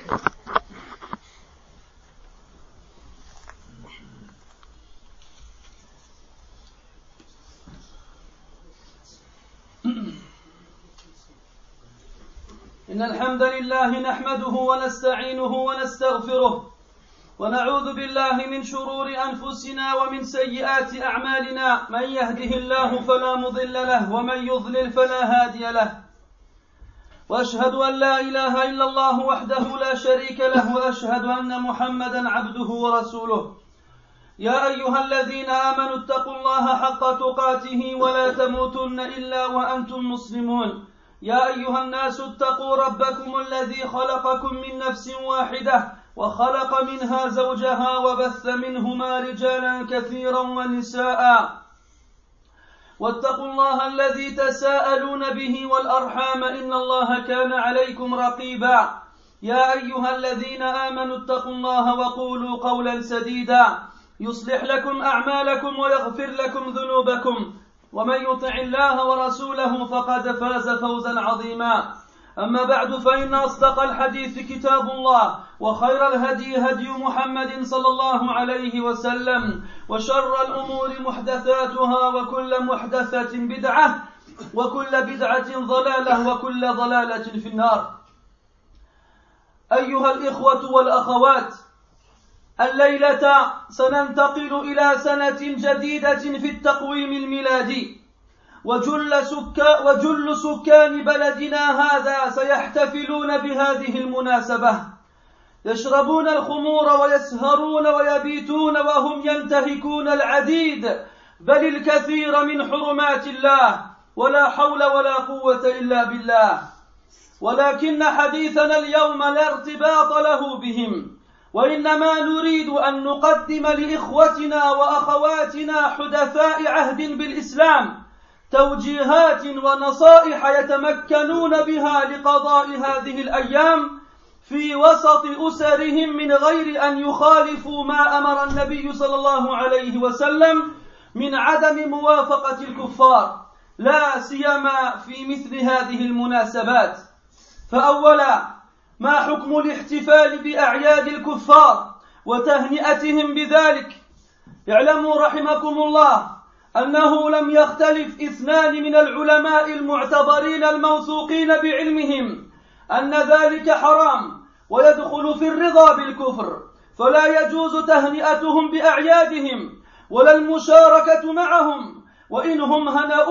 إن الحمد لله نحمده ونستعينه ونستغفره ونعوذ بالله من شرور أنفسنا ومن سيئات أعمالنا من يهده الله فلا مضل له ومن يضلل فلا هادي له وأشهد أن لا إله إلا الله وحده لا شريك له وأشهد أن محمدا عبده ورسوله يا أيها الذين آمنوا اتقوا الله حق تقاته ولا تموتن إلا وأنتم مسلمون يا أيها الناس اتقوا ربكم الذي خلقكم من نفس واحدة وخلق منها زوجها وبث منهما رجالا كثيرا ونساء واتقوا الله الذي تساءلون به والأرحام إن الله كان عليكم رقيبا يا أيها الذين آمنوا اتقوا الله وقولوا قولا سديدا يصلح لكم أعمالكم ويغفر لكم ذنوبكم ومن يطع الله ورسوله فقد فاز فوزا عظيما أما بعد فإن أصدق الحديث كتاب الله وخير الهدي هدي محمد صلى الله عليه وسلم وشر الأمور محدثاتها وكل محدثة بدعة وكل بدعة ضلالة وكل ضلالة في النار. أيها الإخوة والأخوات، الليلة سننتقل إلى سنة جديدة في التقويم الميلادي، وجل سكان بلدنا هذا سيحتفلون بهذه المناسبة، يشربون الخمور ويسهرون ويبيتون وهم ينتهكون العديد بل الكثير من حرمات الله، ولا حول ولا قوة إلا بالله. ولكن حديثنا اليوم لا ارتباط له بهم، وإنما نريد أن نقدم لإخوتنا وأخواتنا حدثاء عهد بالإسلام توجيهات ونصائح يتمكنون بها لقضاء هذه الأيام في وسط أسرهم من غير أن يخالفوا ما أمر النبي صلى الله عليه وسلم من عدم موافقة الكفار، لا سيما في مثل هذه المناسبات. فأولا، ما حكم الاحتفال بأعياد الكفار وتهنئتهم بذلك؟ اعلموا رحمكم الله أنه لم يختلف اثنان من العلماء المعتبرين الموثوقين بعلمهم أن ذلك حرام ويدخل في الرضا بالكفر، فلا يجوز تهنئتهم بأعيادهم ولا المشاركة معهم، وإنهم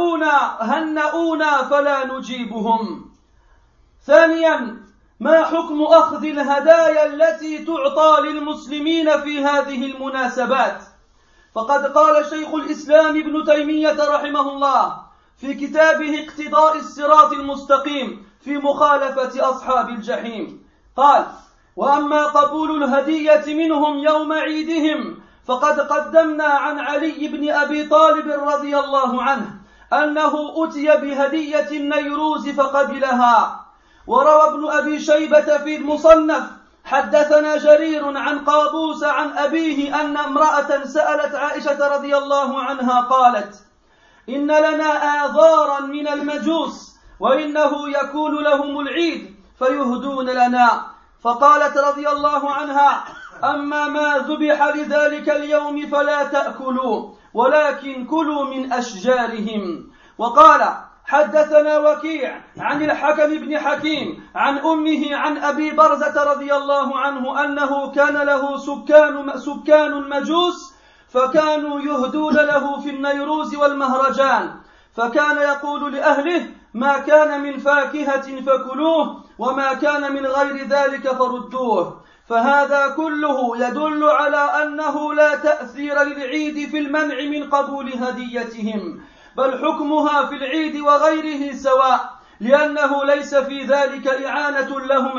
هنؤونا فلا نجيبهم. ثانيا، ما حكم أخذ الهدايا التي تعطى للمسلمين في هذه المناسبات؟ فقد قال شيخ الإسلام ابن تيمية رحمه الله في كتابه اقتضاء الصراط المستقيم في مخالفة أصحاب الجحيم، قال: وأما قبول الهدية منهم يوم عيدهم فقد قدمنا عن علي بن أبي طالب رضي الله عنه أنه أتي بهدية النيروز فقبلها. وروى ابن أبي شيبة في المصنف حدثنا جرير عن قابوس عن أبيه أن امرأة سألت عائشة رضي الله عنها قالت: إن لنا آذارا من المجوس وإنه يكون لهم العيد فيهدون لنا، فقالت رضي الله عنها: أما ما ذبح لذلك اليوم فلا تأكلوا ولكن كلوا من أشجارهم. وقال: حدثنا وكيع عن الحكم بن حكيم عن أمه عن أبي برزة رضي الله عنه أنه كان له سكان مجوس فكانوا يهدون له في النيروز والمهرجان، فكان يقول لأهله: ما كان من فاكهة فكلوه وما كان من غير ذلك فردوه. فهذا كله يدل على أنه لا تأثير للعيد في المنع من قبول هديتهم، بل حكمها في العيد وغيره سواء، لأنه ليس في ذلك إعانة لهم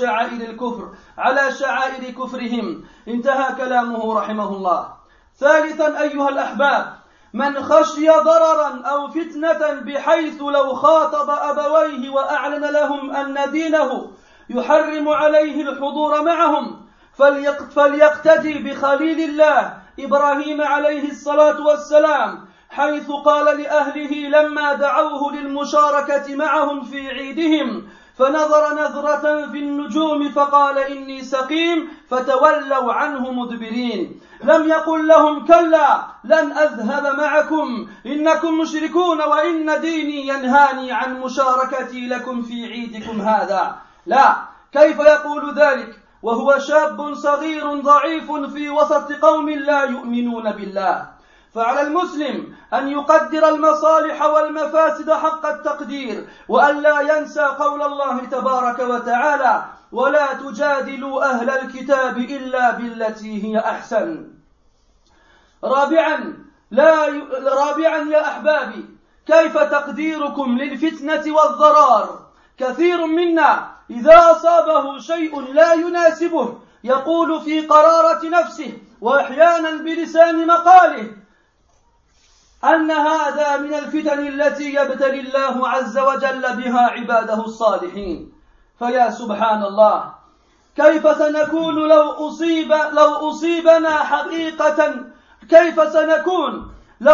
على شعائر كفرهم. انتهى كلامه رحمه الله. ثالثا أيها الأحباب، من خشي ضررا أو فتنة بحيث لو خاطب أبويه وأعلن لهم أن دينه يحرم عليه الحضور معهم فليقتدي بخليل الله إبراهيم عليه الصلاة والسلام، حيث قال لأهله لما دعوه للمشاركة معهم في عيدهم فنظر نظرة في النجوم فقال إني سقيم فتولوا عنه مدبرين. لم يقل لهم كلا لن أذهب معكم إنكم مشركون وإن ديني ينهاني عن مشاركتي لكم في عيدكم هذا. لا، كيف يقول ذلك وهو شاب صغير ضعيف في وسط قوم لا يؤمنون بالله؟ فعلى المسلم أن يقدر المصالح والمفاسد حق التقدير، وأن لا ينسى قول الله تبارك وتعالى: ولا تجادلوا أهل الكتاب إلا بالتي هي أحسن. رابعا يا أحبابي، كيف تقديركم للفتنة والضرار؟ كثير منا إذا أصابه شيء لا يناسبه يقول في قرارة نفسه وأحيانا بلسان مقاله أن هذا من الفتن التي يبتلي الله عز وجل بها عباده الصالحين. فيا سبحان الله، كيف سنكون لو أصيبنا حقيقة؟ كيف سنكون لو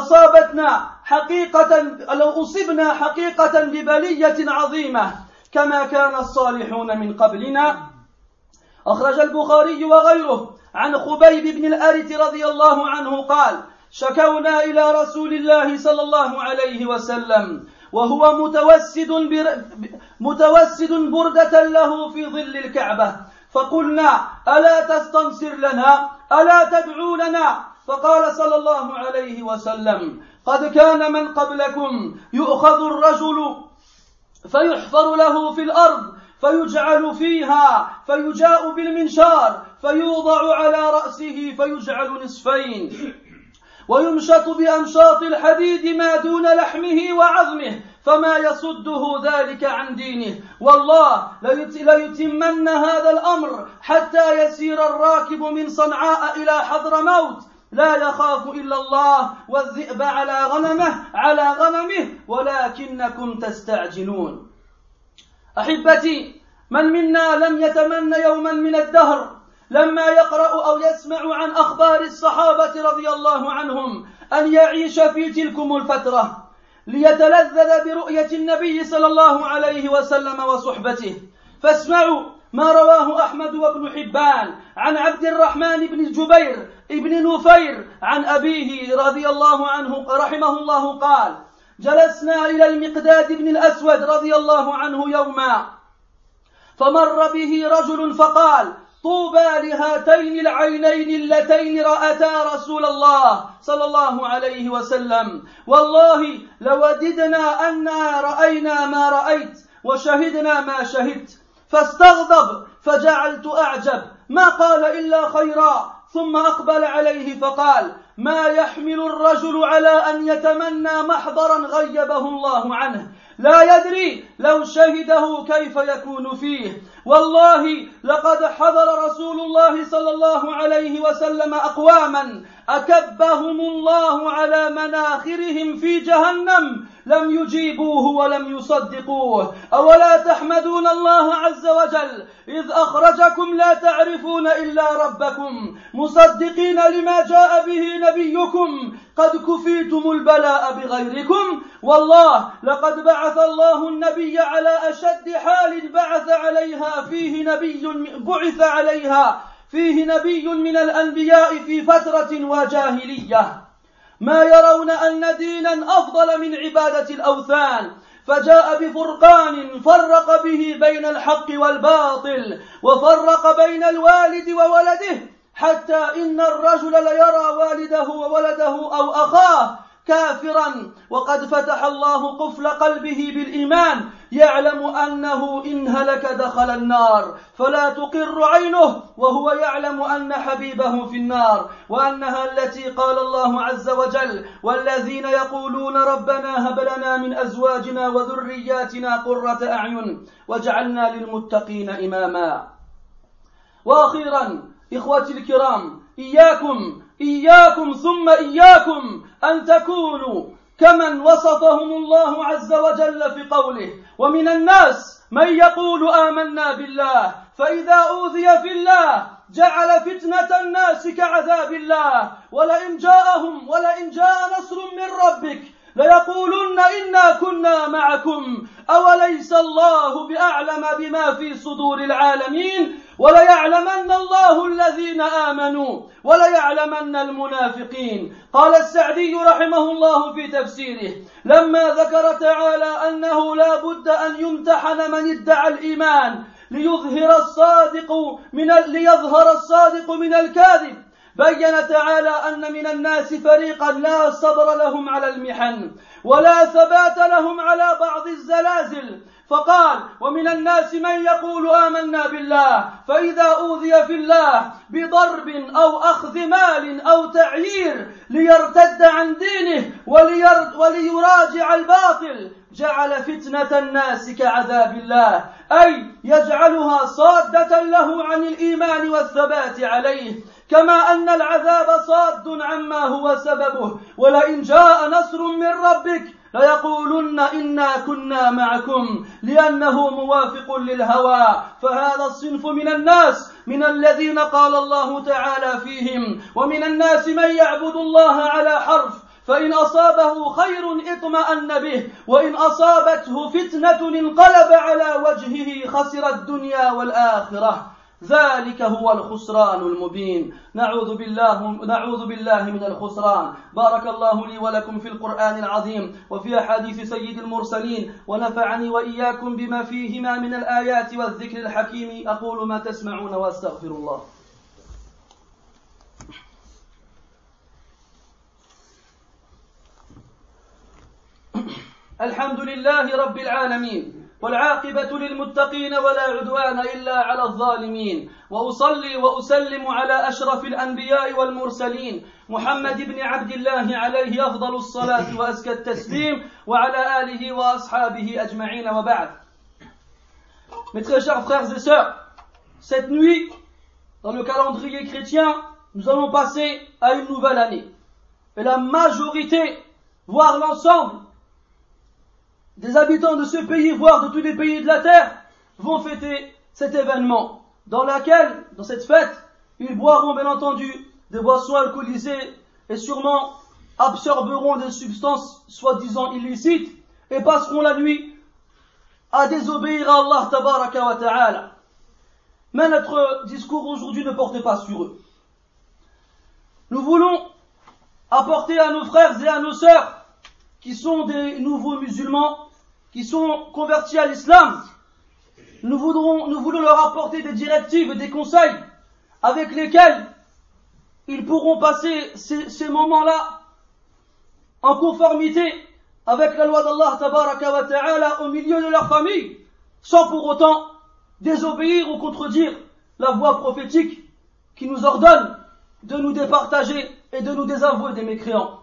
أصبنا حقيقة ببلية عظيمة كما كان الصالحون من قبلنا؟ أخرج البخاري وغيره عن خبيب بن الأرت رضي الله عنه قال: شكونا إلى رسول الله صلى الله عليه وسلم وهو متوسد بردة له في ظل الكعبة، فقلنا: ألا تستنصر لنا؟ ألا تدعو لنا؟ فقال صلى الله عليه وسلم: قد كان من قبلكم يؤخذ الرجل فيحفر له في الأرض فيجعل فيها فيجاء بالمنشار فيوضع على رأسه فيجعل نصفين ويمشط بأمشاط الحديد ما دون لحمه وعظمه فما يصده ذلك عن دينه، والله ليتمن هذا الأمر حتى يسير الراكب من صنعاء إلى حضرموت لا يخاف إلا الله والذئب على غنمه ولكنكم تستعجلون. أحبتي، من منا لم يتمنى يوما من الدهر لما يقرأ أو يسمع عن أخبار الصحابة رضي الله عنهم أن يعيش في تلكم الفترة ليتلذذ برؤية النبي صلى الله عليه وسلم وصحبته؟ فاسمعوا ما رواه أحمد وابن حبان عن عبد الرحمن بن جبير ابن نفير عن أبيه رضي الله عنه رحمه الله قال: جلسنا إلى المقداد بن الأسود رضي الله عنه يوما، فمر به رجل فقال: طوبى لهاتين العينين اللتين رأتا رسول الله صلى الله عليه وسلم، والله لوددنا أننا رأينا ما رأيت وشهدنا ما شهدت. فاستغضب فجعلت أعجب، ما قال إلا خيرا، ثم أقبل عليه فقال: ما يحمل الرجل على أن يتمنى محضرا غيبه الله عنه، لا يدري لو شهده كيف يكون فيه. والله لقد حضر رسول الله صلى الله عليه وسلم أقواما أكبهم الله على مناخرهم في جهنم لم يجيبوه ولم يصدقوه. أولا تحمدون الله عز وجل إذ أخرجكم لا تعرفون إلا ربكم مصدقين لما جاء به نبيكم قد كفيتم البلاء بغيركم. والله لقد بعث الله النبي على أشد حال بعث عليها فيه نبي من الأنبياء في فترة وجاهلية، ما يرون أن دينا أفضل من عبادة الأوثان، فجاء بفرقان فرق به بين الحق والباطل وفرق بين الوالد وولده، حتى إن الرجل ليرى والده وولده أو أخاه كافرا وقد فتح الله قفل قلبه بالإيمان يعلم أنه إن هلك دخل النار فلا تقر عينه وهو يعلم أن حبيبه في النار، وأنها التي قال الله عز وجل: والذين يقولون ربنا هب لنا من أزواجنا وذرياتنا قرة أعين واجعلنا للمتقين إماما. وأخيرا إخوتي الكرام، إياكم ثم إياكم أن تكونوا كمن وصفهم الله عز وجل في قوله: ومن الناس من يقول آمنا بالله فإذا أوذي في الله جعل فتنة الناس كعذاب الله ولئن جاء نصر من ربك ليقولن إنا كنا معكم أوليس الله بأعلم بما في صدور العالمين وليعلمن الله الذين آمنوا وليعلمن المنافقين. قال السعدي رحمه الله في تفسيره لما ذكر تعالى أنه لا بد أن يمتحن من ادعى الإيمان ليظهر الصادق من الكاذب، بين تعالى أن من الناس فريقا لا صبر لهم على المحن ولا ثبات لهم على بعض الزلازل، فقال ومن الناس من يقول آمنا بالله فإذا أوذي في الله بضرب أو أخذ مال أو تعيير ليرتد عن دينه وليراجع الباطل جعل فتنة الناس كعذاب الله، أي يجعلها صادة له عن الإيمان والثبات عليه، كما أن العذاب صاد عما هو سببه. ولئن جاء نصر من ربك ليقولن إنا كنا معكم لأنه موافق للهوى. فهذا الصنف من الناس من الذين قال الله تعالى فيهم ومن الناس من يعبد الله على حرف فإن أصابه خير اطمأن به وإن أصابته فتنة انقلب على وجهه خسر الدنيا والآخرة. ذلك هو الخسران المبين. نعوذ بالله من الخسران. بارك الله لي ولكم في القرآن العظيم وفي أحاديث سيد المرسلين ونفعني وإياكم بما فيهما من الآيات والذكر الحكيم. أقول ما تسمعون وأستغفر الله. الحمد لله رب العالمين والعاقبة للمتقين ولا عدوان إلا على الظالمين، وأصلي وأسلم على أشرف الأنبياء والمرسلين محمد بن عبد الله عليه أفضل الصلاة وأزكى التسليم وعلى آله وأصحابه أجمعين وبعد. Mes très chers frères et sœurs, cette nuit, dans le calendrier chrétien, nous allons passer à une nouvelle année. Et la majorité, voire l'ensemble des habitants de ce pays, voire de tous les pays de la terre, vont fêter cet événement, dans cette fête, ils boiront bien entendu des boissons alcoolisées et sûrement absorberont des substances soi-disant illicites et passeront la nuit à désobéir à Allah tabaraka wa ta'ala. Mais notre discours aujourd'hui ne porte pas sur eux. Nous voulons apporter à nos frères et à nos sœurs qui sont des nouveaux musulmans, qui sont convertis à l'islam, nous voulons leur apporter des directives et des conseils avec lesquels ils pourront passer ces moments-là en conformité avec la loi d'Allah tabaraka wa ta'ala au milieu de leur famille, sans pour autant désobéir ou contredire la voie prophétique qui nous ordonne de nous départager et de nous désavouer des mécréants.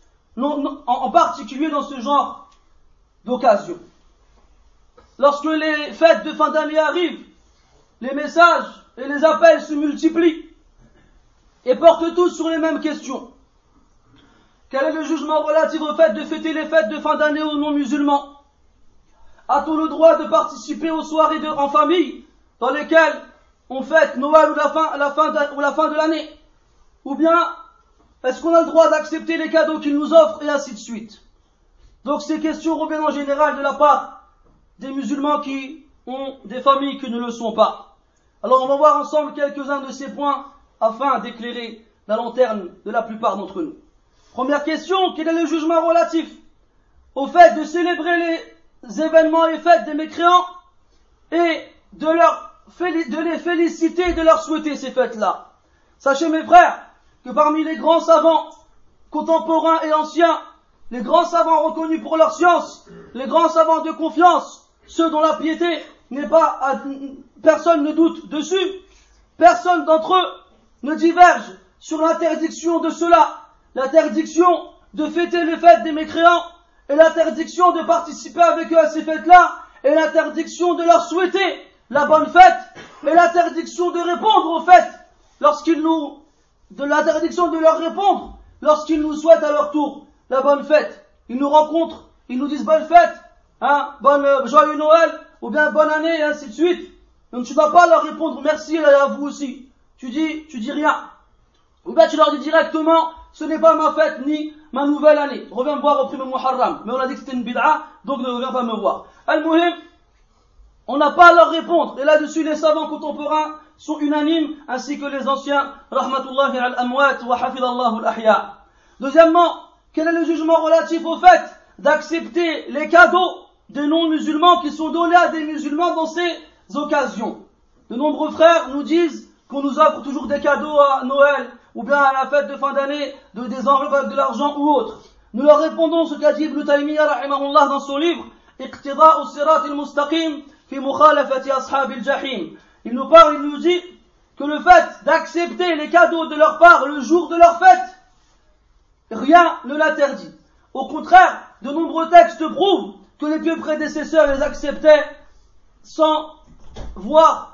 En particulier dans ce genre d'occasion. Lorsque les fêtes de fin d'année arrivent, les messages et les appels se multiplient et portent tous sur les mêmes questions. Quel est le jugement relatif au fait de fêter les fêtes de fin d'année aux non-musulmans? A-t-on le droit de participer aux soirées en famille dans lesquelles on fête Noël ou la fin de l'année? Ou bien est-ce qu'on a le droit d'accepter les cadeaux qu'ils nous offrent et ainsi de suite? Donc ces questions reviennent en général de la part des musulmans qui ont des familles qui ne le sont pas. Alors on va voir ensemble quelques-uns de ces points afin d'éclairer la lanterne de la plupart d'entre nous. Première question, quel est le jugement relatif au fait de célébrer les événements et fêtes des mécréants et de les féliciter et de leur souhaiter ces fêtes-là? Sachez mes frères que parmi les grands savants contemporains et anciens, les grands savants reconnus pour leur science, les grands savants de confiance, ceux dont la piété n'est pas, personne ne doute dessus, personne d'entre eux ne diverge sur l'interdiction de cela, l'interdiction de fêter les fêtes des mécréants et l'interdiction de participer avec eux à ces fêtes-là et l'interdiction de leur souhaiter la bonne fête et l'interdiction de répondre aux fêtes l'interdiction de leur répondre lorsqu'ils nous souhaitent à leur tour la bonne fête. Ils nous rencontrent, ils nous disent bonne fête, joyeux Noël, ou bien bonne année, et ainsi de suite. Donc tu ne vas pas leur répondre merci et à vous aussi. Tu dis rien. Ou bien tu leur dis directement ce n'est pas ma fête ni ma nouvelle année. Reviens me voir au premier Muharram. Mais on a dit que c'était une bid'a, donc ne reviens pas me voir. Al-Muhim, on n'a pas à leur répondre. Et là-dessus, les savants contemporains sont unanimes, ainsi que les anciens. Rahmatullahi al-amwat wa hafidallahu al-ahya. Deuxièmement, quel est le jugement relatif au fait d'accepter les cadeaux des non-musulmans qui sont donnés à des musulmans dans ces occasions? De nombreux frères nous disent qu'on nous offre toujours des cadeaux à Noël ou bien à la fête de fin d'année, des enveloppes avec de l'argent ou autre. Nous leur répondons ce qu'a dit Ibn Taymiyyah rahimahullah dans son livre Iqtida'u sirat al-mustaqim fi mukhalafati ashab al-jahim. Il nous dit que le fait d'accepter les cadeaux de leur part le jour de leur fête, rien ne l'interdit. Au contraire, de nombreux textes prouvent que les pieux prédécesseurs les acceptaient sans voir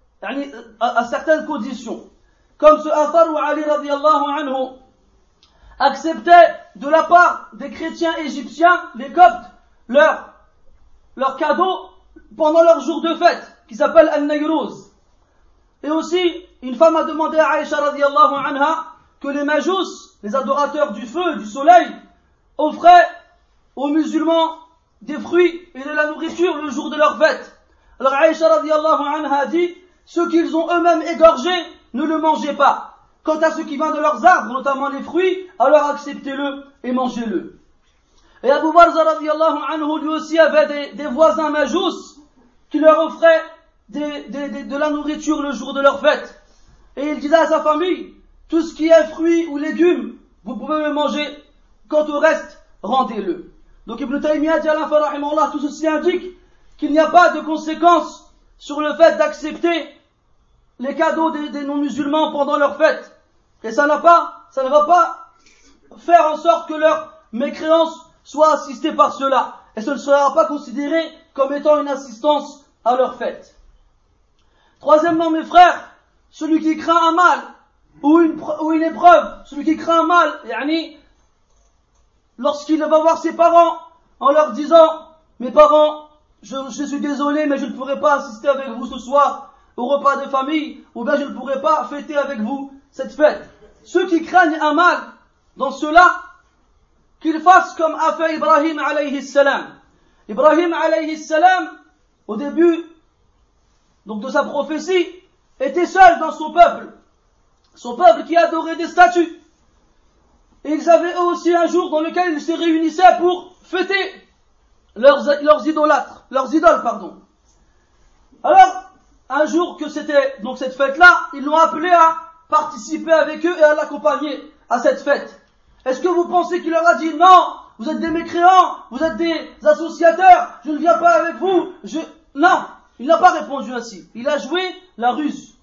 à certaines conditions. Comme ce Athar où Ali radiyallahu anhu acceptait de la part des chrétiens égyptiens, les Coptes, leur cadeau pendant leur jour de fête, qui s'appelle Al-Nayruz. Et aussi, une femme a demandé à Aïcha radiyallahu anha que les majous, les adorateurs du feu, du soleil, offraient aux musulmans des fruits et de la nourriture le jour de leur fête. Alors Aïcha radiyallahu anha a dit, ceux qu'ils ont eux-mêmes égorgés, ne le mangez pas. Quant à ce qui vient de leurs arbres, notamment les fruits, alors acceptez-le et mangez-le. Et Abu Barza radiyallahu anhu lui aussi avait des voisins majous qui leur offraient de la nourriture le jour de leur fête. Et il disait à sa famille, tout ce qui est fruits ou légumes, vous pouvez le manger, quant au reste, rendez-le. Donc Ibn Taymiyyah dit à la fin rahimahullah, tout ceci indique qu'il n'y a pas de conséquences sur le fait d'accepter les cadeaux des non-musulmans pendant leur fête. Et ça ne va pas faire en sorte que leur mécréance soit assistée par cela. Et ce ne sera pas considéré comme étant une assistance à leur fête. Troisièmement, mes frères, celui qui craint un mal ou une épreuve, celui qui craint un mal, lorsqu'il va voir ses parents en leur disant, mes parents, je suis désolé, mais je ne pourrai pas assister avec vous ce soir au repas de famille, ou bien je ne pourrai pas fêter avec vous cette fête. Ceux qui craignent un mal, dans cela, qu'ils fassent comme a fait Ibrahim alayhi salam. Ibrahim alayhi salam, au début donc de sa prophétie, était seul dans son peuple qui adorait des statues. Et ils avaient eux aussi un jour dans lequel ils se réunissaient pour fêter leurs idoles. Alors, un jour que c'était donc cette fête-là, ils l'ont appelé à participer avec eux et à l'accompagner à cette fête. Est-ce que vous pensez qu'il leur a dit non, vous êtes des mécréants, vous êtes des associateurs, je ne viens pas avec vous, Non, il n'a pas répondu ainsi. Il a joué la ruse.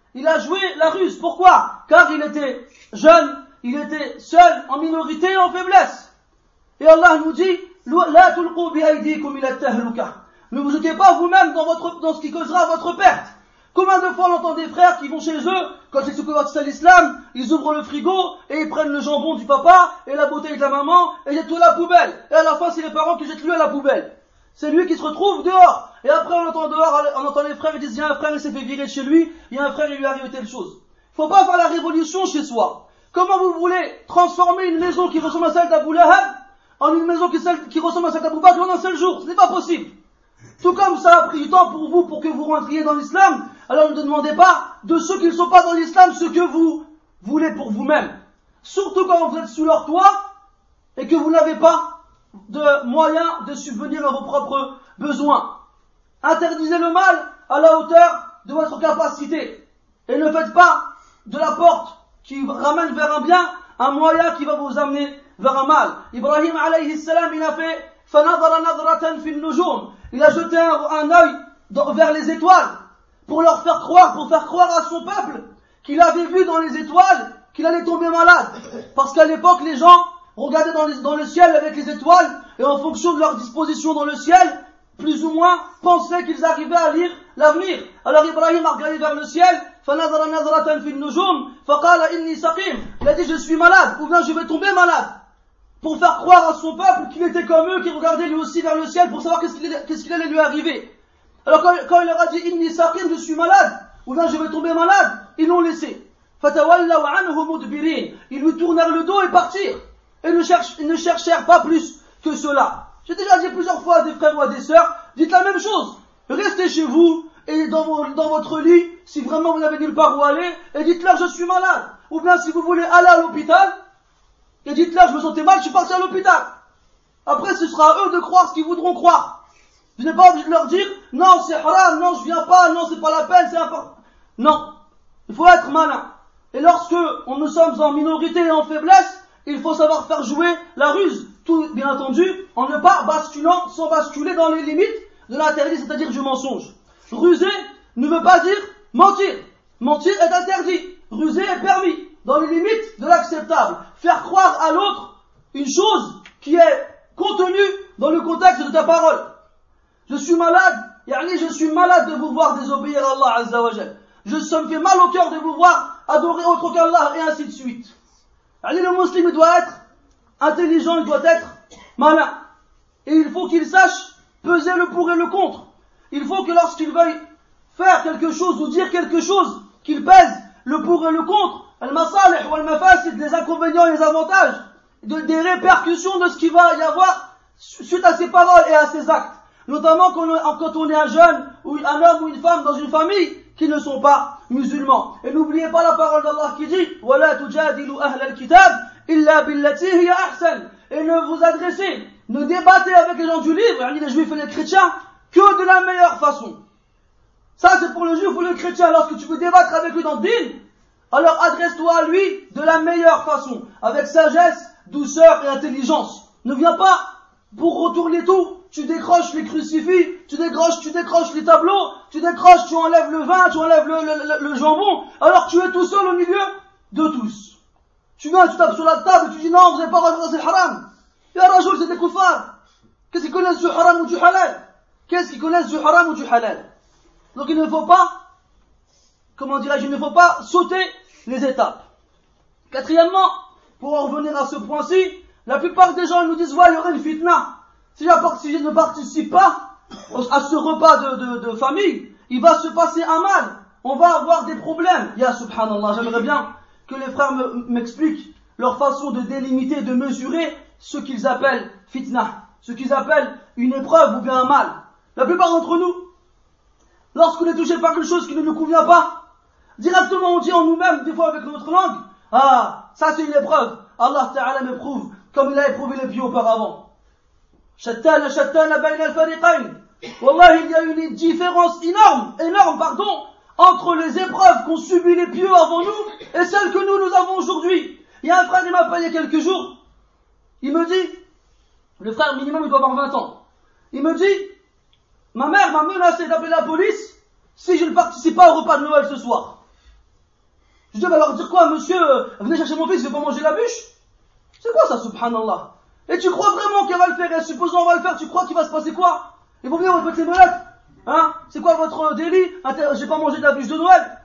Pourquoi? Car il était jeune, il était seul, en minorité et en faiblesse. Et Allah nous dit, la tulqu bi aydikum ila tahluka. Ne vous jetez pas vous-même dans ce qui causera votre perte. Combien de fois on entend des frères qui vont chez eux, quand ils se convertissent à l'islam, ils ouvrent le frigo et ils prennent le jambon du papa et la bouteille de la maman et jettent tout à la poubelle. Et à la fin, c'est les parents qui jettent lui à la poubelle. C'est lui qui se retrouve dehors. Et après, on entend les frères, ils disent, il y a un frère, il s'est fait virer de chez lui, il y a un frère, il lui est arrivé telle chose. Il ne faut pas faire la révolution chez soi. Comment vous voulez transformer une maison qui ressemble à celle d'Abu Lahab en une maison qui ressemble à celle d'Abu Bakr en un seul jour? Ce n'est pas possible. Tout comme ça a pris du temps pour vous, pour que vous rentriez dans l'islam, alors ne demandez pas de ceux qui ne sont pas dans l'islam ce que vous voulez pour vous-même. Surtout quand vous êtes sous leur toit et que vous n'avez pas de moyens de subvenir à vos propres besoins. Interdisez le mal à la hauteur de votre capacité. Et ne faites pas de la porte qui ramène vers un bien un moyen qui va vous amener vers un mal. Ibrahim alayhi salam, il a fait فَنَظَرَ نَظْرَةً فِي النُّجُومِ. Il a jeté un œil vers les étoiles pour faire croire à son peuple qu'il avait vu dans les étoiles qu'il allait tomber malade. Parce qu'à l'époque, les gens regardaient dans le ciel avec les étoiles et en fonction de leur disposition dans le ciel, plus ou moins pensaient qu'ils arrivaient à lire l'avenir. Alors Ibrahim a regardé vers le ciel, فَنَظَرَ نَظْرَةً فِي النُّجُومِ فَقَالَ إِنِّي سَقِيمٌ. Il a dit je suis malade, ou bien je vais tomber malade. Pour faire croire à son peuple qu'il était comme eux, qu'il regardait lui aussi vers le ciel pour savoir qu'est-ce qu'il allait lui arriver. Alors quand il leur a dit Inni saqim, je suis malade, ou bien je vais tomber malade, ils l'ont laissé. فَتَوَلَّوْا عَنْهُ مُدْبِرِينَ. Ils lui tournèrent le dos et partirent. Et ne cherchèrent pas plus que cela. J'ai déjà dit plusieurs fois à des frères ou à des sœurs, dites la même chose. Restez chez vous et dans votre lit, si vraiment vous n'avez nulle part où aller, et dites-leur je suis malade. Ou bien si vous voulez aller à l'hôpital, et dites-leur je me sentais mal, je suis parti à l'hôpital. Après ce sera à eux de croire ce qu'ils voudront croire. Je n'ai pas envie de leur dire, non c'est haram, non je viens pas, non c'est pas la peine, c'est important. Non, il faut être malin. Et lorsque nous sommes en minorité et en faiblesse, il faut savoir faire jouer la ruse. Tout, bien entendu, en ne pas basculant, sans basculer dans les limites de l'interdit, c'est-à-dire du mensonge. Ruser ne veut pas dire mentir. Mentir est interdit. Ruser est permis, dans les limites de l'acceptable. Faire croire à l'autre une chose qui est contenue dans le contexte de ta parole. Je suis malade, je suis malade de vous voir désobéir à Allah Azza wa Jal. Ça me fait mal au cœur de vous voir adorer autre qu'Allah, et ainsi de suite. Le musulman doit être intelligent, il doit être malin. Et il faut qu'il sache peser le pour et le contre. Il faut que lorsqu'il veuille faire quelque chose ou dire quelque chose, qu'il pèse le pour et le contre, al-masalih ou al-mafasid, les inconvénients et les avantages, des répercussions de ce qu'il va y avoir suite à ses paroles et à ses actes. Notamment quand on est un jeune, ou un homme ou une femme dans une famille qui ne sont pas musulmans. Et n'oubliez pas la parole d'Allah qui dit وَلَا تُجَادِلُوا أَهْلَ الْكِتَابِ إِلَّا بِالَّتِي هِيَ أَحْسَنُ. Et ne vous adressez, ne débattez avec les gens du livre, les juifs et les chrétiens, que de la meilleure façon. Ça c'est pour le juif ou le chrétien. Lorsque tu veux débattre avec lui dans le din, alors adresse-toi à lui de la meilleure façon, avec sagesse, douceur et intelligence. Ne viens pas pour retourner tout. Tu décroches les crucifix, tu décroches les tableaux, tu enlèves le vin, tu enlèves le jambon, alors tu es tout seul au milieu de tous. Tu viens, tu tapes sur la table et tu dis non, vous n'avez pas le droit, c'est le haram. Ya Rajoul, c'est des koufars. Qu'est-ce qu'ils connaissent du haram ou du halal? Qu'est-ce qu'ils connaissent du haram ou du halal? Donc il ne faut pas, il ne faut pas sauter les étapes. Quatrièmement, pour en revenir à ce point-ci, la plupart des gens nous disent, ouais, il y aura une fitna. Si je ne participe pas à ce repas de famille, il va se passer un mal. On va avoir des problèmes. Ya subhanallah, j'aimerais bien que les frères m'expliquent leur façon de délimiter, de mesurer ce qu'ils appellent fitna, ce qu'ils appellent une épreuve ou bien un mal. La plupart d'entre nous, lorsqu'on est touché par quelque chose qui ne nous convient pas, directement on dit en nous-mêmes, des fois avec notre langue, ah, ça c'est une épreuve. Allah Ta'ala m'éprouve comme il a éprouvé les pieds auparavant. Shattana bayna al-fariqayn. Wallah, il y a une différence énorme, entre les épreuves qu'ont subi les pieux avant nous et celles que nous avons aujourd'hui. Il y a un frère qui m'a appelé il y a quelques jours. Il me dit, le frère minimum il doit avoir 20 ans. Il me dit, ma mère m'a menacé d'appeler la police si je ne participe pas au repas de Noël ce soir. Je dis, bah alors dire quoi, monsieur, venez chercher mon fils, je vais pas manger la bûche. C'est quoi ça, subhanallah? Et tu crois vraiment qu'elle va le faire? Et supposons on va le faire, tu crois qu'il va se passer quoi? Ils vont venir, on va te mettre les menottes. Hein? C'est quoi votre délit? J'ai pas mangé de la bûche de Noël.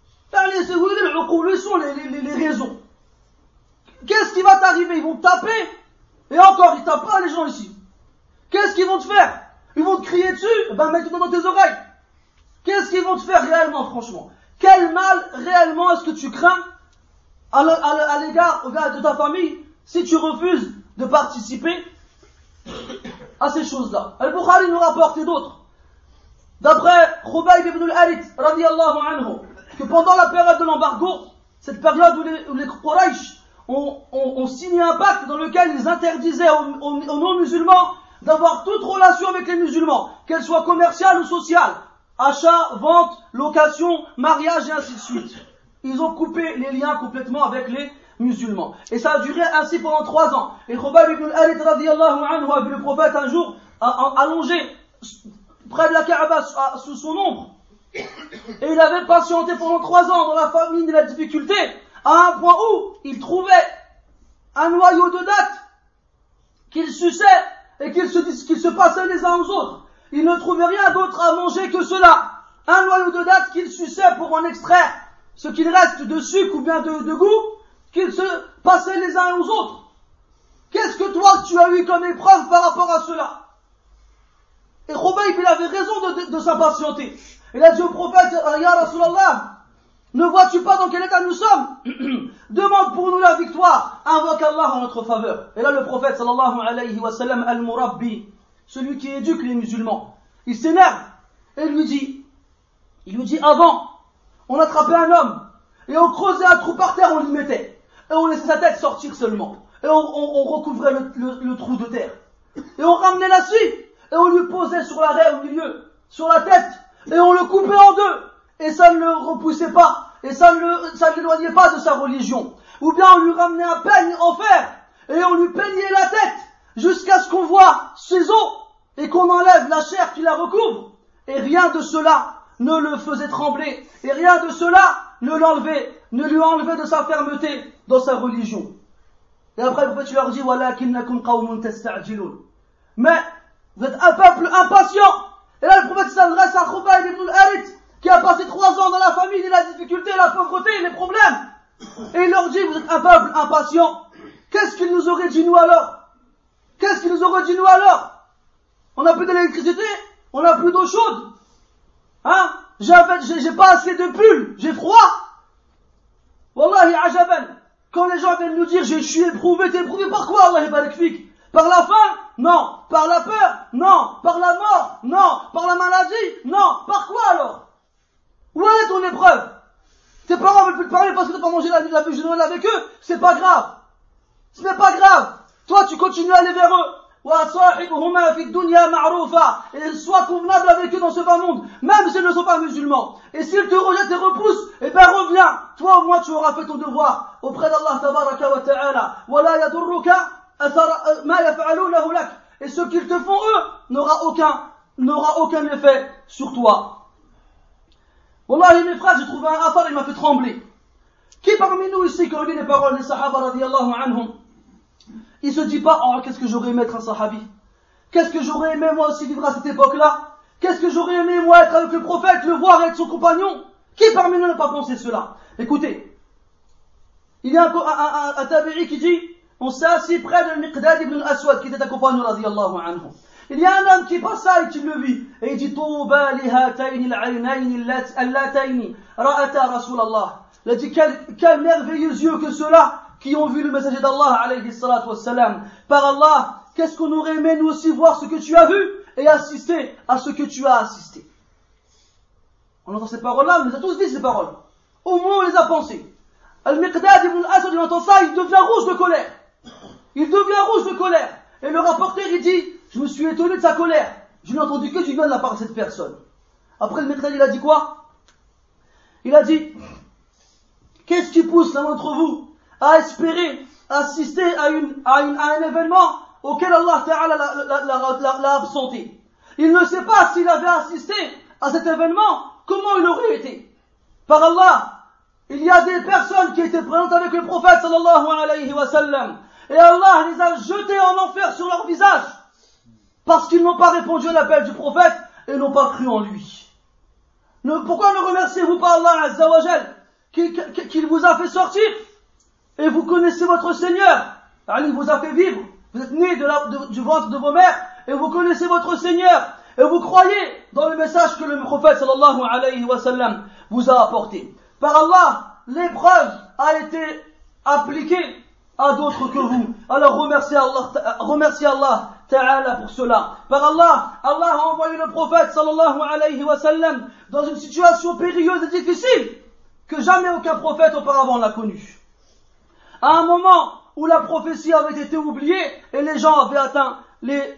Où sont les raisons? Qu'est-ce qui va t'arriver? Ils vont te taper. Et encore, ils tapent pas les gens ici. Qu'est-ce qu'ils vont te faire? Ils vont te crier dessus? Ben mets-toi dans tes oreilles. Qu'est-ce qu'ils vont te faire réellement, franchement? Quel mal réellement est-ce que tu crains à l'égard de ta famille si tu refuses de participer à ces choses-là? Al-Bukhari nous rapporte et d'autres. D'après Khubayb ibn al-Harith, radiyallahu anhu, que pendant la période de l'embargo, cette période où les Quraysh ont signé un pacte dans lequel ils interdisaient aux non-musulmans d'avoir toute relation avec les musulmans, qu'elle soit commerciale ou sociale, achat, vente, location, mariage et ainsi de suite. Ils ont coupé les liens complètement avec les musulmans. Et ça a duré ainsi pendant 3 ans. Et Khubayb ibn al-Harith radiyallahu anhu a vu le prophète un jour allongé près de la Kaaba sous son ombre. Et il avait patienté pendant 3 ans dans la famine et la difficulté, à un point où il trouvait un noyau de dattes qu'il suçait et qu'il se passait les uns aux autres. Il ne trouvait rien d'autre à manger que cela. Un noyau de dattes qu'il suçait pour en extraire ce qu'il reste de sucre ou bien de goût, qu'ils se passaient les uns aux autres. Qu'est-ce que toi tu as eu comme épreuve par rapport à cela? Et Khubayb il avait raison de s'impatienter. Il a dit au prophète, Ya Rasulallah, Ne vois-tu pas dans quel état nous sommes? Demande pour nous la victoire. Invoque Allah en notre faveur. Et là, le prophète, sallallahu alayhi wa sallam, al-Murabbi, celui qui éduque les musulmans, il s'énerve et il lui dit, avant, on attrapait un homme et on creusait un trou par terre, on l'y mettait. Et on laissait sa tête sortir seulement. Et on recouvrait le trou de terre. Et on ramenait la scie et on lui posait sur l'arrêt au milieu, sur la tête, et on le coupait en deux. Et ça ne le repoussait pas, et ça ne l'éloignait pas de sa religion. Ou bien on lui ramenait un peigne en fer, et on lui peignait la tête, jusqu'à ce qu'on voit ses os, et qu'on enlève la chair qui la recouvre. Et rien de cela ne le faisait trembler, et rien de cela ne lui enlevait de sa fermeté dans sa religion. Et après le prophète leur dit, walakinnakum qawmun tasta'jilun. Mais vous êtes un peuple impatient. Et là le prophète s'adresse à Khubayb ibn al-Harith, qui a passé 3 ans dans la famine, la difficulté, la pauvreté, les problèmes. Et il leur dit, vous êtes un peuple impatient. Qu'est-ce qu'il nous aurait dit nous alors? Qu'est-ce qu'il nous aurait dit nous alors? On n'a plus d'électricité, on n'a plus d'eau chaude. Hein? J'ai pas assez de pulls, j'ai froid. Wallahi ajaban. Quand les gens viennent nous dire, je suis éprouvé, t'es éprouvé par quoi, Allah barak fik? Par la faim? Non. Par la peur? Non. Par la mort? Non. Par la maladie? Non. Par quoi alors? Où est ton épreuve? Tes parents veulent plus te parler parce que tu n'as pas mangé la bûche de Noël avec eux? C'est pas grave. Ce n'est pas grave. Toi, tu continues à aller vers eux. Et sois convenable avec eux dans ce bas monde, même s'ils ne sont pas musulmans. Et s'ils te rejettent et repoussent, eh ben reviens. Toi au moins tu auras fait ton devoir auprès d'Allah tabaraka wa ta'ala. Wala yadurruka ma yaf'alunahu lak. Et ce qu'ils te font eux n'aura aucun effet sur toi. Wallahi mes frères, j'ai trouvé un affaire, il m'a fait trembler. Qui parmi nous ici, quand on lit les paroles des sahaba radiyallahu anhum, il se dit pas, oh, qu'est-ce que j'aurais aimé être un sahabi? Qu'est-ce que j'aurais aimé moi aussi vivre à cette époque-là? Qu'est-ce que j'aurais aimé moi être avec le prophète, le voir avec son compagnon? Qui parmi nous n'a pas pensé cela? Écoutez, il y a un tabi'i qui dit, on s'est assis près de Miqdad ibn al-Aswad, qui était un compagnon radiyallahu anhu. Il y a un homme qui passe ça et qui le vit, et il dit, Touba li hatayni al-aynayni allatayni ra'ata Rasulallah. Il a dit, quel merveilleux yeux que ceux-là qui ont vu le messager d'Allah alayhi salatu wassalam. Par Allah, qu'est-ce qu'on aurait aimé nous aussi voir ce que tu as vu et assister à ce que tu as assisté. On entend ces paroles-là, on les a tous dit ces paroles. Au moins on les a pensées. Al-Miqdad ibn al-Aswad, il entend ça, il devient rouge de colère. Il devient rouge de colère. Et le rapporteur, il dit, je me suis étonné de sa colère. Je n'ai entendu que du bien de la part de cette personne. Après le Miqdad, il a dit quoi? Il a dit, qu'est-ce qui pousse l'un d'entre vous à espérer assister à un événement auquel Allah Ta'ala l'a absenté? Il ne sait pas s'il avait assisté à cet événement, comment il aurait été. Par Allah, il y a des personnes qui étaient présentes avec le prophète sallallahu alayhi wa sallam, et Allah les a jetés en enfer sur leur visage, parce qu'ils n'ont pas répondu à l'appel du prophète et n'ont pas cru en lui. Pourquoi ne remerciez-vous pas Allah Azza wa Jal qu'il vous a fait sortir? Et vous connaissez votre Seigneur. Il vous a fait vivre. Vous êtes nés du ventre de vos mères. Et vous connaissez votre Seigneur. Et vous croyez dans le message que le prophète sallallahu alayhi wa sallam vous a apporté. Par Allah, l'épreuve a été appliquée à d'autres que vous. Alors remerciez Allah Ta'ala pour cela. Par Allah, Allah a envoyé le prophète sallallahu alayhi wa sallam dans une situation périlleuse et difficile que jamais aucun prophète auparavant n'a connue. À un moment où la prophétie avait été oubliée et les gens avaient atteint les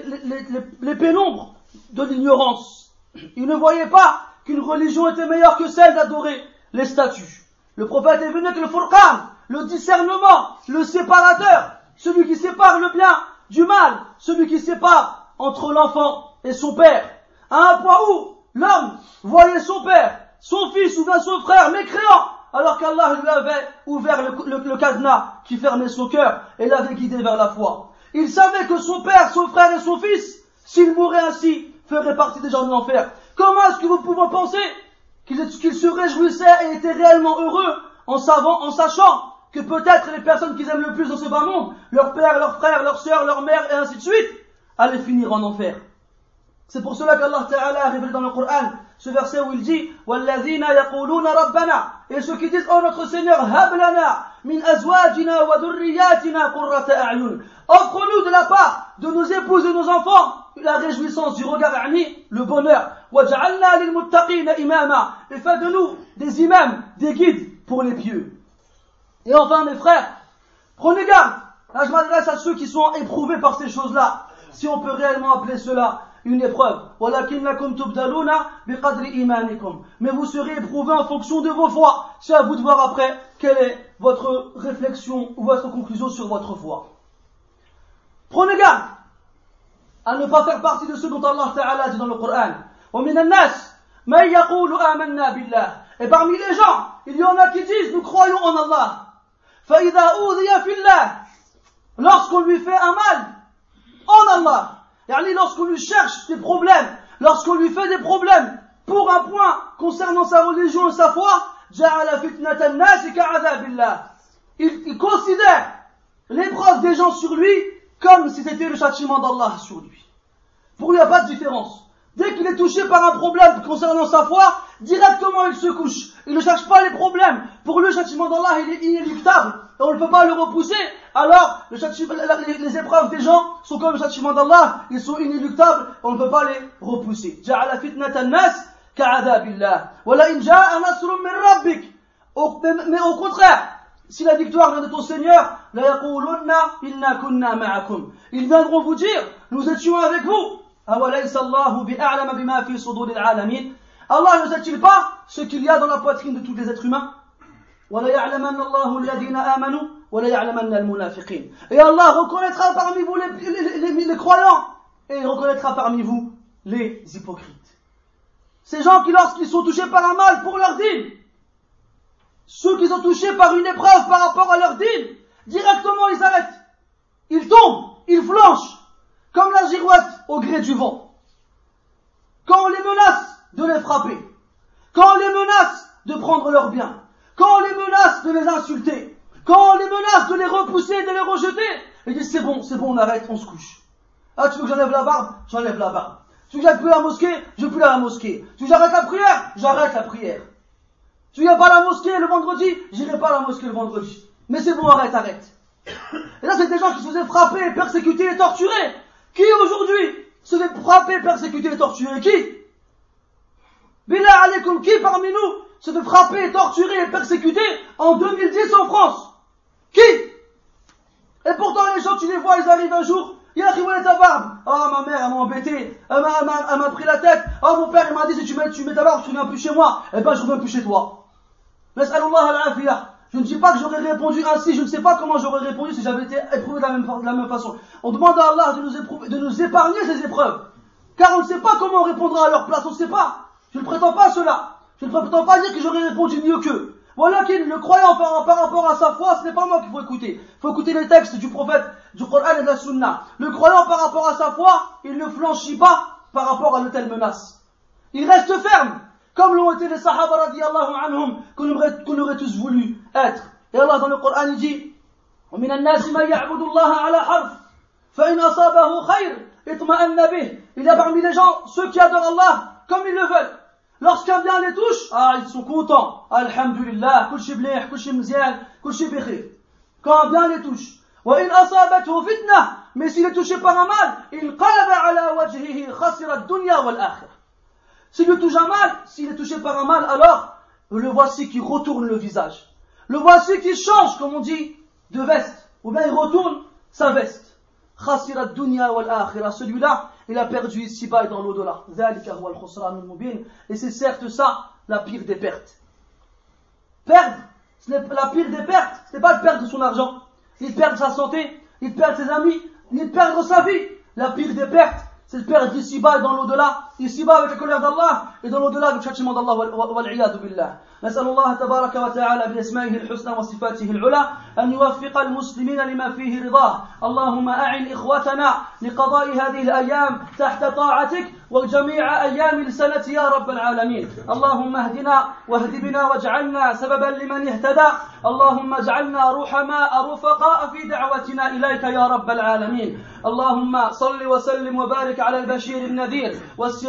pénombres de l'ignorance. Ils ne voyaient pas qu'une religion était meilleure que celle d'adorer les statues. Le prophète est venu avec le Furqan, le discernement, le séparateur, celui qui sépare le bien du mal, celui qui sépare entre l'enfant et son père. À un point où l'homme voyait son père, son fils ou bien son frère mécréant, alors qu'Allah lui avait ouvert le cadenas qui fermait son cœur et l'avait guidé vers la foi. Il savait que son père, son frère et son fils, s'ils mouraient ainsi, feraient partie des gens de l'enfer. Comment est-ce que vous pouvez penser qu'ils se réjouissaient et étaient réellement heureux en sachant que peut-être les personnes qu'ils aiment le plus dans ce bas monde, leur père, leur frère, leur sœur, leur mère et ainsi de suite, allaient finir en enfer. C'est pour cela qu'Allah Ta'ala a révélé dans le Coran ce verset où il dit وَالَّذِينَ يَقُولُونَ رَبَّنَا, et ceux qui disent, oh notre Seigneur, هَبْ لَنَا مِنْ أَزْوَاجِنَا وَذُرِّيَّاتِنَا قُرَّةَ أَعْيُنٍ, offre-nous de la part de nos épouses et nos enfants la réjouissance du regard, le bonheur. وَجَعَلْنَا لِلْمُتَّقِينَ إِمَامًا, et fais de nous des imams, des guides pour les pieux. Et enfin mes frères, prenez garde. Là je m'adresse à ceux qui sont éprouvés par ces choses-là, si on peut réellement appeler cela une épreuve. وَلَكِنَّكُمْ تُبْدَلُونَ بِقَدْرِ إِيمَانِكُمْ, mais vous serez éprouvés en fonction de vos foi. C'est à vous de voir après quelle est votre réflexion ou votre conclusion sur votre foi. Prenez garde à ne pas faire partie de ceux dont Allah Ta'ala dit dans le Coran وَمِنَ النَّاسِ مَنْ يَقُولُ آمَنَّا بِاللَّهِ, et parmi les gens il y en a qui disent nous croyons en Allah. فَإِذَا أُوذِيَ فِي اللَّهِ, lorsqu'on lui fait un mal en Allah, lorsqu'on lui cherche des problèmes, lorsqu'on lui fait des problèmes pour un point concernant sa religion et sa foi, جَعَلَ فِتْنَةَ النَّاسِ كَعَذَابِ اللَّهِ, il considère l'épreuve des gens sur lui comme si c'était le châtiment d'Allah sur lui. Pour lui, il n'y a pas de différence. Dès qu'il est touché par un problème concernant sa foi, directement il se couche. Il ne cherche pas les problèmes. Pour lui, le châtiment d'Allah, il est inéluctable. Et on ne peut pas le repousser. Alors, les épreuves des gens sont comme le châtiment d'Allah. Ils sont inéluctables. On ne peut pas les repousser. جَعَلَ فِتْنَةَ النَّاسِ كَعَذَابِ اللَّهِ وَلَئِنْ جَاءَ نَصْرٌ مِّن رَبِّكَ, mais au contraire, si la victoire vient de ton Seigneur, la yaqulunna inna kunna ma'akum, ils viendront vous dire, nous étions avec vous. Awalaysa Allahu bi'a'lama bima fi suduril alamin, Allah ne sait-il pas ce qu'il y a dans la poitrine de tous les êtres humains? Wa la ya'lamanna Allahu alladhina amanu wa la ya'lamanna al-munafiqin, et Allah reconnaîtra parmi vous les croyants, et il reconnaîtra parmi vous les hypocrites. Ces gens qui, lorsqu'ils sont touchés par un mal pour leur dîne, ceux qui sont touchés par une épreuve par rapport à leur dîne, directement ils arrêtent. Ils tombent, ils flanchent, comme la girouette au gré du vent. Quand on les menace de les frapper, quand on les menace de prendre leurs biens, quand on les menace de les insulter, quand on les menace de les repousser, de les rejeter, ils disent c'est bon, on arrête, on se couche. Ah, tu veux que j'enlève la barbe? J'enlève la barbe. Tu veux que j'aille plus à la mosquée? Je vais plus à la mosquée. Tu veux que j'arrête la prière? J'arrête la prière. Tu viens pas à la mosquée le vendredi? J'irai pas à la mosquée le vendredi. Mais c'est bon, arrête. Et là, c'est des gens qui se faisaient frapper, persécuter et torturer. Qui aujourd'hui se fait frapper, persécuter et torturer? Qui? Billah alaykoum, qui parmi nous se fait frapper, torturer et persécuter en 2010 en France? Qui? Et pourtant les gens, tu les vois, ils arrivent un jour, il a où est ta barbe? Ah, ma mère, elle m'a embêté, elle m'a pris la tête. Ah, mon père, il m'a dit, si tu mets ta barbe, tu reviens plus chez moi. Eh ben, je reviens plus chez toi. Je ne dis pas que j'aurais répondu ainsi, je ne sais pas comment j'aurais répondu si j'avais été éprouvé de la même façon. On demande à Allah de nous épargner ces épreuves, car on ne sait pas comment on répondra à leur place, on ne sait pas. Je ne prétends pas cela, je ne prétends pas dire que j'aurais répondu mieux qu'eux. Voilà qu'il, le croyant par rapport à sa foi, ce n'est pas moi qu'il faut écouter. Il faut écouter les textes du prophète, du Coran et de la Sunna. Le croyant par rapport à sa foi, il ne flanchit pas par rapport à de telles menaces. Il reste ferme, comme l'ont été les Sahaba radiyallahu anhum, qu'on aurait tous voulu être. Et Allah dans le Coran il dit وَمِنَ النَّاسِ مَنْ يَعْبُدُ اللَّهَ عَلَى حَرْفٍ فَإِنْ أَصَابَهُ خَيْرٌ اطْمَأَنَّ بِهِ. Il y a parmi les gens ceux qui adorent Allah comme ils le veulent. Lorsqu'un bien les touche, ils sont contents. Alhamdulillah, kul shi mlih, kul shi mzian, kul shi bikhir. Quand un bien les touche. وَإِنْ أَصَابَتْهُ فِتْنَةٌ, mais s'il est touché par un mal, il قَلَبَ عَلَى وَجْهِهِ خَسِرَ الدُّنْيَا وَالْآخِرَةَ. S'il est touché s'il est touché par un mal, alors le voici qui retourne le visage. Le voici qui change, comme on dit, de veste. Ou bien il retourne sa veste. Khasira ad-dunya wal-akhirah. Celui-là, il a perdu ici-bas et dans l'au-delà. Dhalika huwa al-khusran al-mubin. Et c'est certes ça, la pire des pertes. Perdre, la pire des pertes, ce n'est pas de perdre son argent, ni de perdre sa santé, ni de perdre ses amis, ni de perdre sa vie. La pire des pertes, c'est de perdre ici-bas et dans l'au-delà, ici-bas avec la colère d'Allah, et dans l'au-delà avec le châtiment d'Allah, wal-'iyadu billah. نسأل الله تبارك وتعالى بأسمائه الحسنى وصفاته العلى أن يوفق المسلمين لما فيه رضاه. اللهم أعن إخوتنا لقضاء هذه الأيام تحت طاعتك وجميع أيام السنة يا رب العالمين. اللهم اهدنا واهد بنا واجعلنا سببا لمن اهتدى. اللهم اجعلنا رحماء رفقاء في دعوتنا إليك يا رب العالمين. اللهم صل وسلم وبارك على البشير النذير والسراج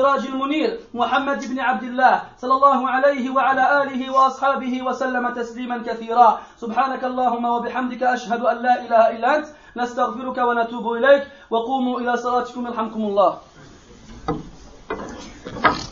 السراج المنير محمد بن عبد الله صلى الله عليه وعلى آله وأصحابه وسلم تسليما كثيرا. سبحانك اللهم وبحمدك أشهد أن لا إله إلا أنت نستغفرك ونتوب إليك وقوموا إلى صلاتكم يرحمكم الله.